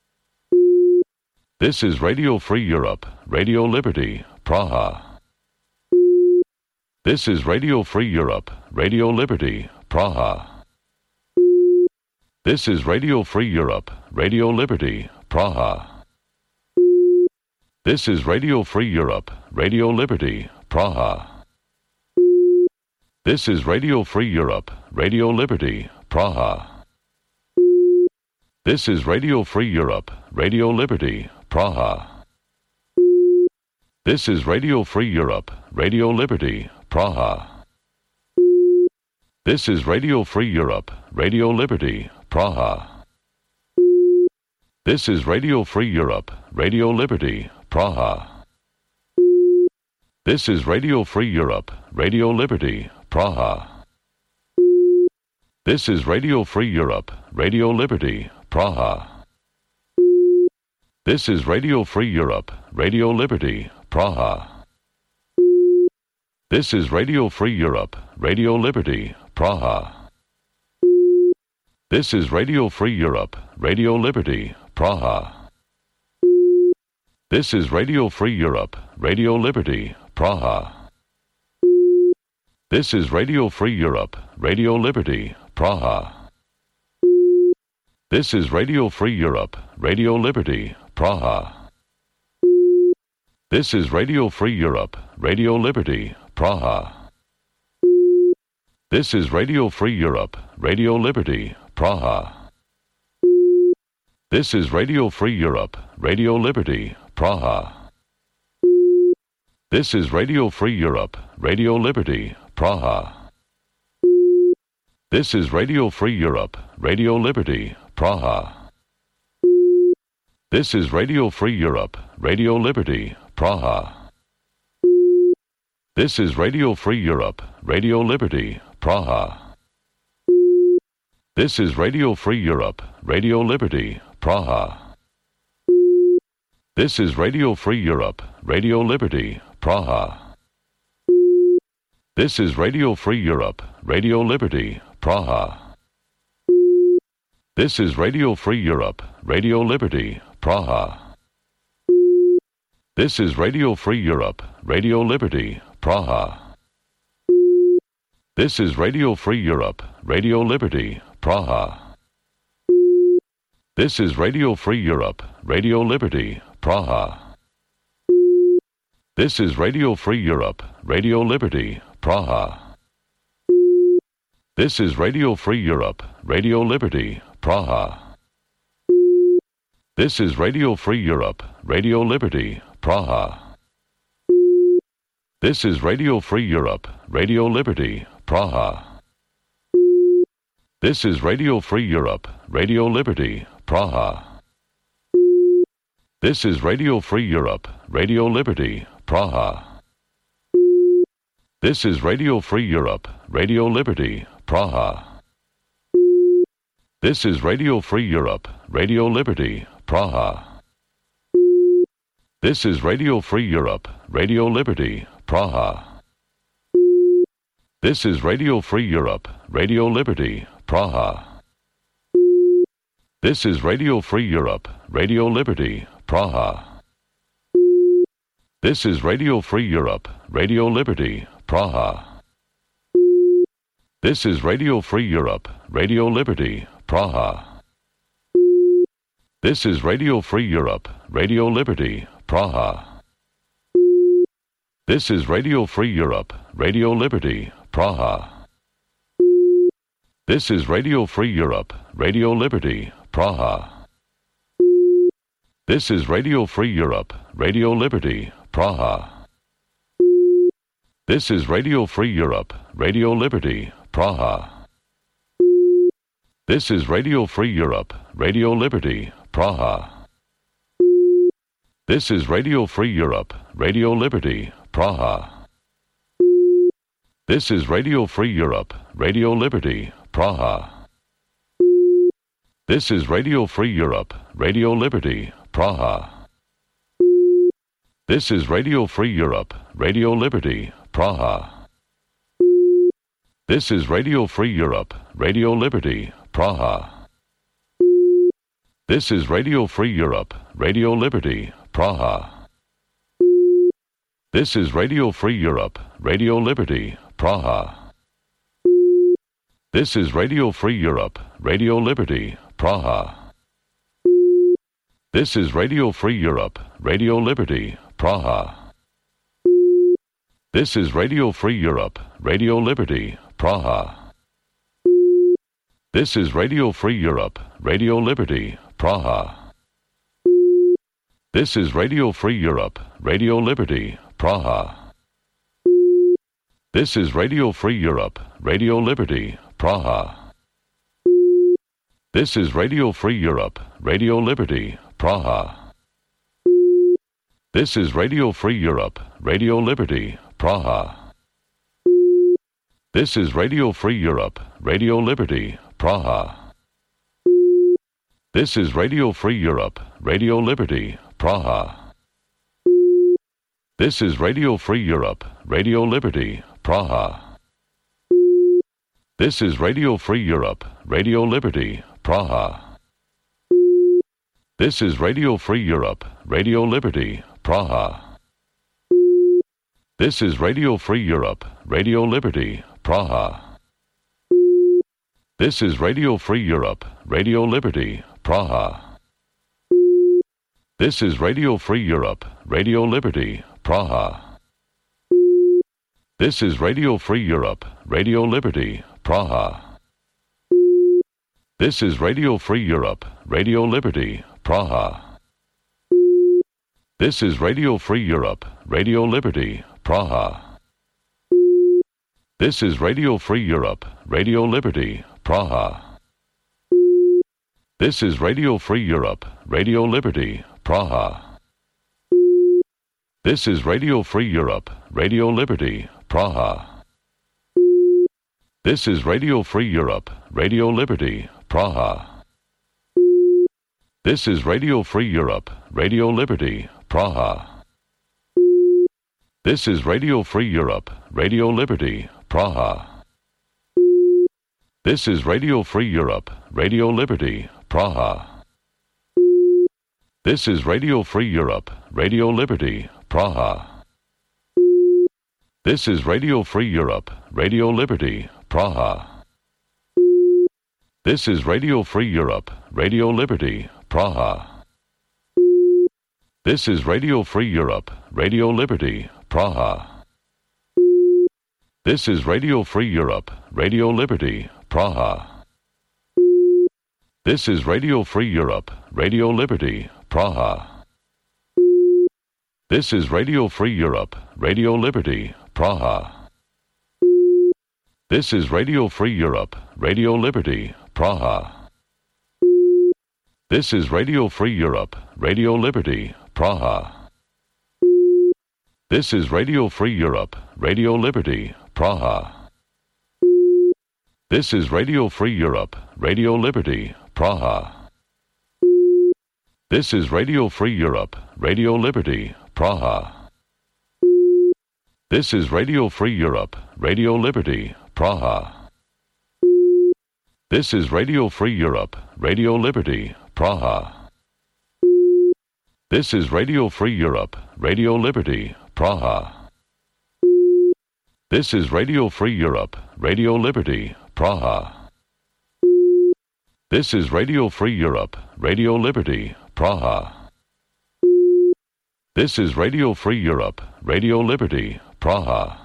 This is Radio Free Europe, Radio Liberty, Praha. This is Radio Free Europe, Radio Liberty, Praha. This is Radio Free Europe, Radio Liberty, Praha. This is Radio Free Europe, Radio Liberty, Praha. This is Radio Free Europe, Radio Liberty, Praha. This is Radio Free Europe, Radio Liberty, Praha. This is Radio Free Europe, Radio Liberty, Praha. This is Radio Free Europe, Radio Liberty, Praha. This is Radio Free Europe, Radio Liberty, Praha. This is Radio Free Europe, Radio Liberty, Praha. This is Radio Free Europe, Radio Liberty, Praha. This is Radio Free Europe, Radio Liberty, Praha. This is Radio Free Europe, Radio Liberty, Praha. This is Radio Free Europe, Radio Liberty, Praha. This is Radio Free Europe, Radio Liberty, Praha. This is Radio Free Europe, Radio Liberty, Praha. This is Radio Free Europe, Radio Liberty, Praha. This is Radio Free Europe, Radio Liberty, Praha. This is Radio Free Europe, Radio Liberty, Praha. This is Radio Free Europe, Radio Liberty, Praha. This is Radio Free Europe, Radio Liberty, Praha. This is Radio Free Europe, Radio Liberty, Praha. This is Radio Free Europe, Radio Liberty, Praha. This is Radio Free Europe, Radio Liberty, Praha. This is Radio Free Europe, Radio Liberty, Praha. This is Radio Free Europe, Radio Liberty, Praha. This is Radio Free Europe, Radio Liberty, Praha. This is Radio Free Europe, Radio Liberty, Praha. This is Radio Free Europe, Radio Liberty, Praha. This is Radio Free Europe, Radio Liberty, Praha. This is Radio Free Europe, Radio Liberty, Praha. This is Radio Free Europe, Radio Liberty, Praha. This is Radio Free Europe, Radio Liberty, Praha. This is Radio Free Europe, Radio Liberty, Praha. This is Radio Free Europe, Radio Liberty, Praha. This is Radio Free Europe, Radio Liberty, Praha. This is Radio Free Europe, Radio Liberty, Praha. This is Radio Free Europe, Radio Liberty, Praha. This is Radio Free Europe, Radio Liberty, Praha. This is Radio Free Europe, Radio Liberty, Praha. This is Radio Free Europe, Radio Liberty, Praha. This is Radio Free Europe, Radio Liberty, Praha. This is Radio Free Europe, Radio Liberty, Praha. This is Radio Free Europe, Radio Liberty, Praha. This is Radio Free Europe, Radio Liberty, Praha. This is Radio Free Europe, Radio Liberty, Praha. This is Radio Free Europe, Radio Liberty, Praha. This is Radio Free Europe, Radio Liberty, Praha. This is Radio Free Europe, Radio Liberty, Praha. This is Radio Free Europe, Radio Liberty, Praha. This is Radio Free Europe, Radio Liberty, Praha. This is Radio Free Europe, Radio Liberty, Praha. This is Radio Free Europe, Radio Liberty, Praha. This is Radio Free Europe, Radio Liberty, Praha. This is Radio Free Europe, Radio Liberty, Praha. This is Radio Free Europe, Radio Liberty, Praha. This is Radio Free Europe, Radio Liberty, Praha. This is Radio Free Europe, Radio Liberty, Praha. This is Radio Free Europe, Radio Liberty, Praha. This is Radio Free Europe, Radio Liberty, Praha. This is Radio Free Europe, Radio Liberty, Praha. This is Radio Free Europe, Radio Liberty, Praha. This is Radio Free Europe, Radio Liberty, Praha. This is Radio Free Europe, Radio Liberty, Praha. This is Radio Free Europe, Radio Liberty, Praha. This is Radio Free Europe, Radio Liberty, Praha. This is Radio Free Europe, Radio Liberty, Praha. This is Radio Free Europe, Radio Liberty, Praha. This is Radio Free Europe, Radio Liberty, Praha. This is Radio Free Europe, Radio Liberty, Praha. This is Radio Free Europe, Radio Liberty, Praha. This is Radio Free Europe, Radio Liberty, Praha. This is Radio Free Europe, Radio Liberty, Praha. This is Radio Free Europe, Radio Liberty, Praha. This is Radio Free Europe, Radio Liberty, Praha. This is Radio Free Europe, Radio Liberty, Praha. This is Radio Free Europe, Radio Liberty, Praha. This is Radio Free Europe, Radio Liberty, Praha. This is Radio Free Europe, Radio Liberty, Praha. This is Radio Free Europe, Radio Liberty, Praha. This is Radio Free Europe, Radio Liberty, Praha. This is Radio Free Europe, Radio Liberty, Praha. This is Radio Free Europe, Radio Liberty, Praha. This is Radio Free Europe, Radio Liberty, Praha. This is Radio Free Europe, Radio Liberty, Praha. This is Radio Free Europe, Radio Liberty, Praha. This is Radio Free Europe, Radio Liberty, Praha. This is Radio Free Europe, Radio Liberty, Praha. This is Radio Free Europe, Radio Liberty, Praha. This is Radio Free Europe, Radio Liberty, Praha. This is Radio Free Europe, Radio Liberty, Praha. This is Radio Free Europe, Radio Liberty, Praha. This is Radio Free Europe, Radio Liberty, Praha. This is Radio Free Europe, Radio Liberty, Praha. This is Radio Free Europe, Radio Liberty, Praha. This is Radio Free Europe, Radio Liberty, Praha. This is Radio Free Europe, Radio Liberty, Praha. This is Radio Free Europe, Radio Liberty, Praha. This is Radio Free Europe, Radio Liberty, Praha. This is Radio Free Europe, Radio Liberty, Praha. This is Radio Free Europe, Radio Liberty, Praha.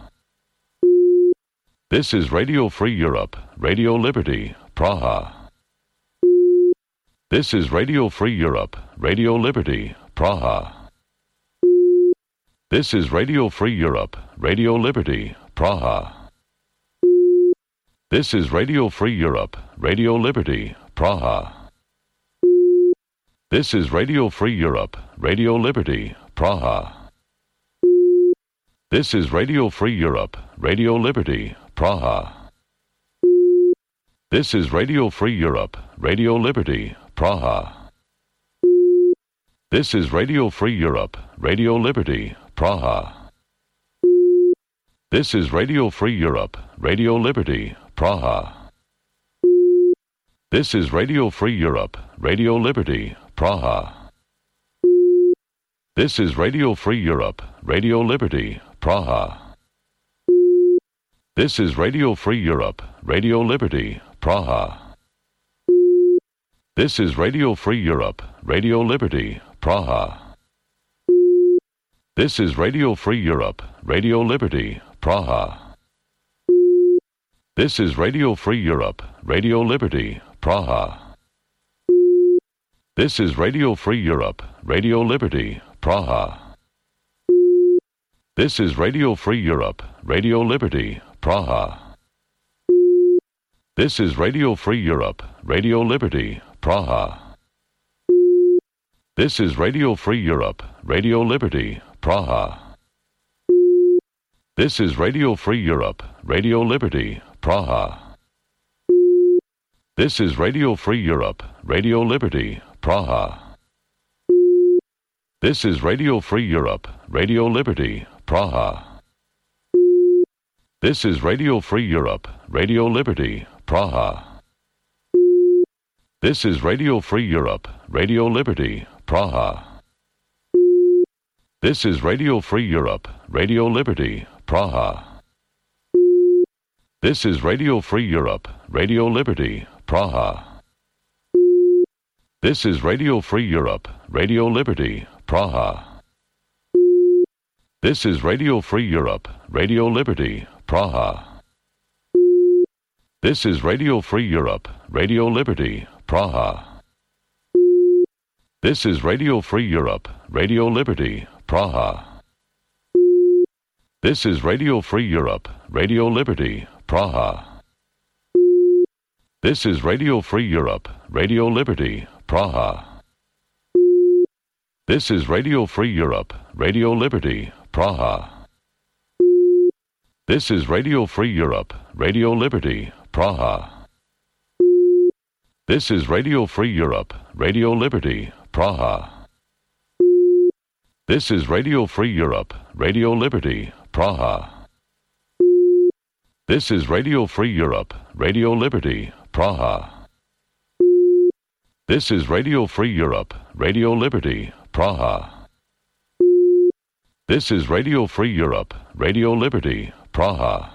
This is Radio Free Europe, Radio Liberty, Praha. This is Radio Free Europe, Radio Liberty, Praha. This is Radio Free Europe, Radio Liberty, Praha. This is Radio Free Europe, Radio Liberty, Praha. This is Radio Free Europe, Radio Liberty, Praha. This is Radio Free Europe, Radio Liberty, Praha. This is Radio Free Europe, Radio Liberty, Praha. This is Radio Free Europe, Radio Liberty, Praha. This is Radio Free Europe, Radio Liberty, Praha. This is Radio Free Europe, Radio Liberty, Praha. This is Radio Free Europe, Radio Liberty, Praha. This is Radio Free Europe, Radio Liberty, Praha. This is Radio Free Europe, Radio Liberty, Praha. This is Radio Free Europe, Radio Liberty, Praha. This is Radio Free Europe, Radio Liberty, Praha. This is Radio Free Europe, Radio Liberty, Praha. This is Radio Free Europe, Radio Liberty, Praha. This is Radio Free Europe, Radio Liberty, Praha. This is Radio Free Europe, Radio Liberty, Praha. This is Radio Free Europe, Radio Liberty, Praha. This is Radio Free Europe, Radio Liberty, Praha. This is Radio Free Europe, Radio Liberty, Praha. This is Radio Free Europe, Radio Liberty, Praha. This is Radio Free Europe, Radio Liberty, Praha. This is Radio Free Europe, Radio Liberty, Praha. This is Radio Free Europe, Radio Liberty, Praha. This is Radio Free Europe, Radio Liberty, Praha. This is Radio Free Europe, Radio Liberty, Praha. This is Radio Free Europe, Radio Liberty, Praha. This is Radio Free Europe, Radio Liberty, Praha. This is Radio Free Europe, Radio Liberty, Praha. This is Radio Free Europe, Radio Liberty, Praha. This is Radio Free Europe, Radio Liberty, Praha. This is Radio Free Europe, Radio Liberty, Praha. This is Radio Free Europe, Radio Liberty, Praha. This is Radio Free Europe, Radio Liberty, Praha. This is Radio Free Europe, Radio Liberty, Praha. This is Radio Free Europe, Radio Liberty, Praha. This is Radio Free Europe, Radio Liberty, Praha.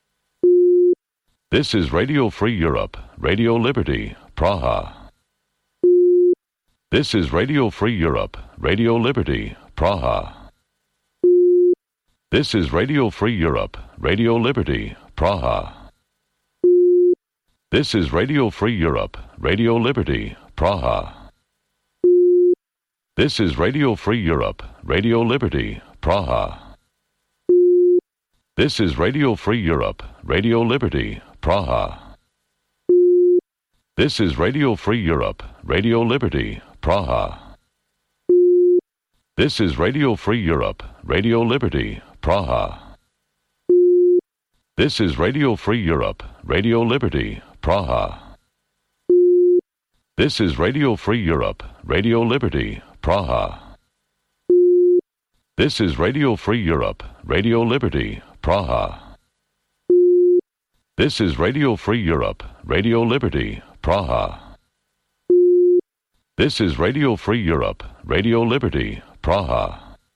This is Radio Free Europe, Radio Liberty, Praha. This is Radio Free Europe, Radio Liberty, Praha. This is Radio Free Europe, Radio Liberty, Praha. This is Radio Free Europe, Radio Liberty, Praha. This is Radio Free Europe, Radio Liberty, Praha. This is Radio Free Europe, Radio Liberty, Praha. This is Radio Free Europe, Radio Liberty, Praha. This is Radio Free Europe, Radio Liberty, Praha. This is Radio Free Europe, Radio Liberty, Praha. This is Radio Free Europe, Radio Liberty, Praha. This is Radio Free Europe, Radio Liberty, Praha. This is Radio Free Europe, Radio Liberty, Praha. This is Radio Free Europe, Radio Liberty, Praha.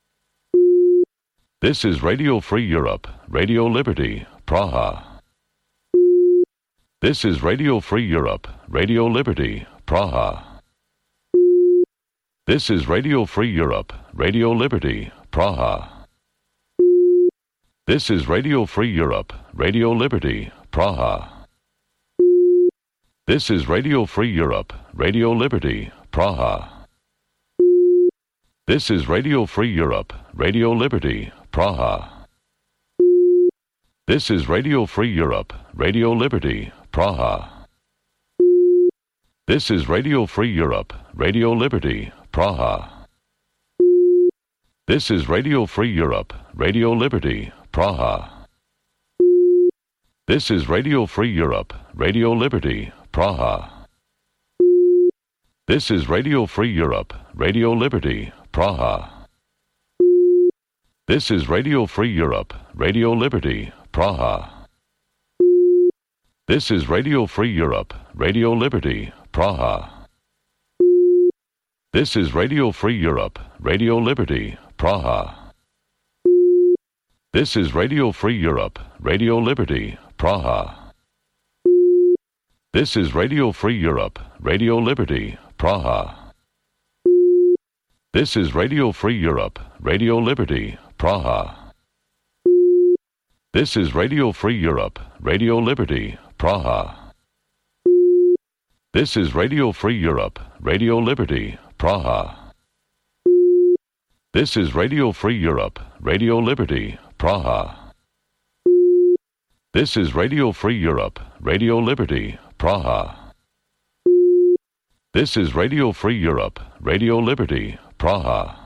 This is Radio Free Europe, Radio Liberty, Praha. This is Radio Free Europe, Radio Liberty, Praha. This is Radio Free Europe, Radio Liberty, Praha. This is Radio Free Europe, Radio Liberty, Praha. This is Radio Free Europe, Radio Liberty, Praha. This is Radio Free Europe, Radio Liberty, Praha. This is Radio Free Europe, Radio Liberty, Praha. This is Radio Free Europe, Radio Liberty, Praha. This is Radio Free Europe, Radio Liberty, Praha. This is Radio Free Europe, Radio Liberty, Praha. This is Radio Free Europe, Radio Liberty, Praha. This is Radio Free Europe, Radio Liberty, Praha. This is Radio Free Europe, Radio Liberty, Praha. This is Radio Free Europe, Radio Liberty, Praha. This is Radio Free Europe, Radio Liberty, Praha. This is Radio Free Europe, Radio Liberty, Praha. This is Radio Free Europe, Radio Liberty, Praha. This is Radio Free Europe, Radio Liberty, Praha. This is Radio Free Europe, Radio Liberty, Praha. This is Radio Free Europe, Radio Liberty, Praha. This is Radio Free Europe, Radio Liberty, Praha. This is Radio Free Europe, Radio Liberty, Praha.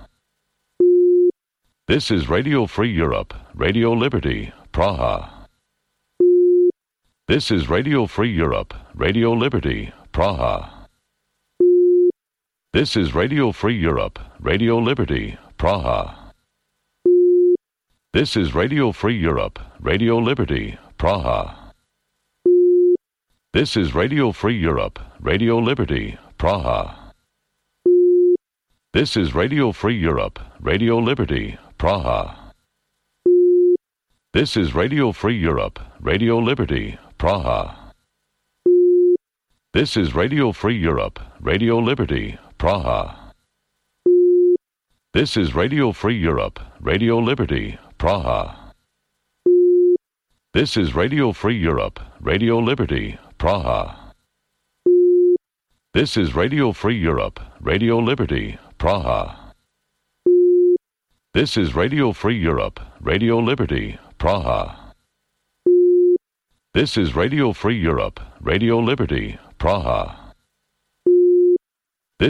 This is Radio Free Europe, Radio Liberty, Praha. This is Radio Free Europe, Radio Liberty, Praha. This is Radio Free Europe, Radio Liberty, Praha. This is Radio Free Europe, Radio Liberty, Praha. This is Radio Free Europe, Radio Liberty, Praha. This is Radio Free Europe, Radio Liberty, Praha. This is Radio Free Europe, Radio Liberty, Praha. This is Radio Free Europe, Radio Liberty, Praha. This is Radio Free Europe, Radio Liberty, Praha. This is Radio Free Europe, Radio Liberty, Praha. This is Radio Free Europe, Radio Liberty, Praha. This is Radio Free Europe, Radio Liberty, Praha. This is Radio Free Europe, Radio Liberty, Praha.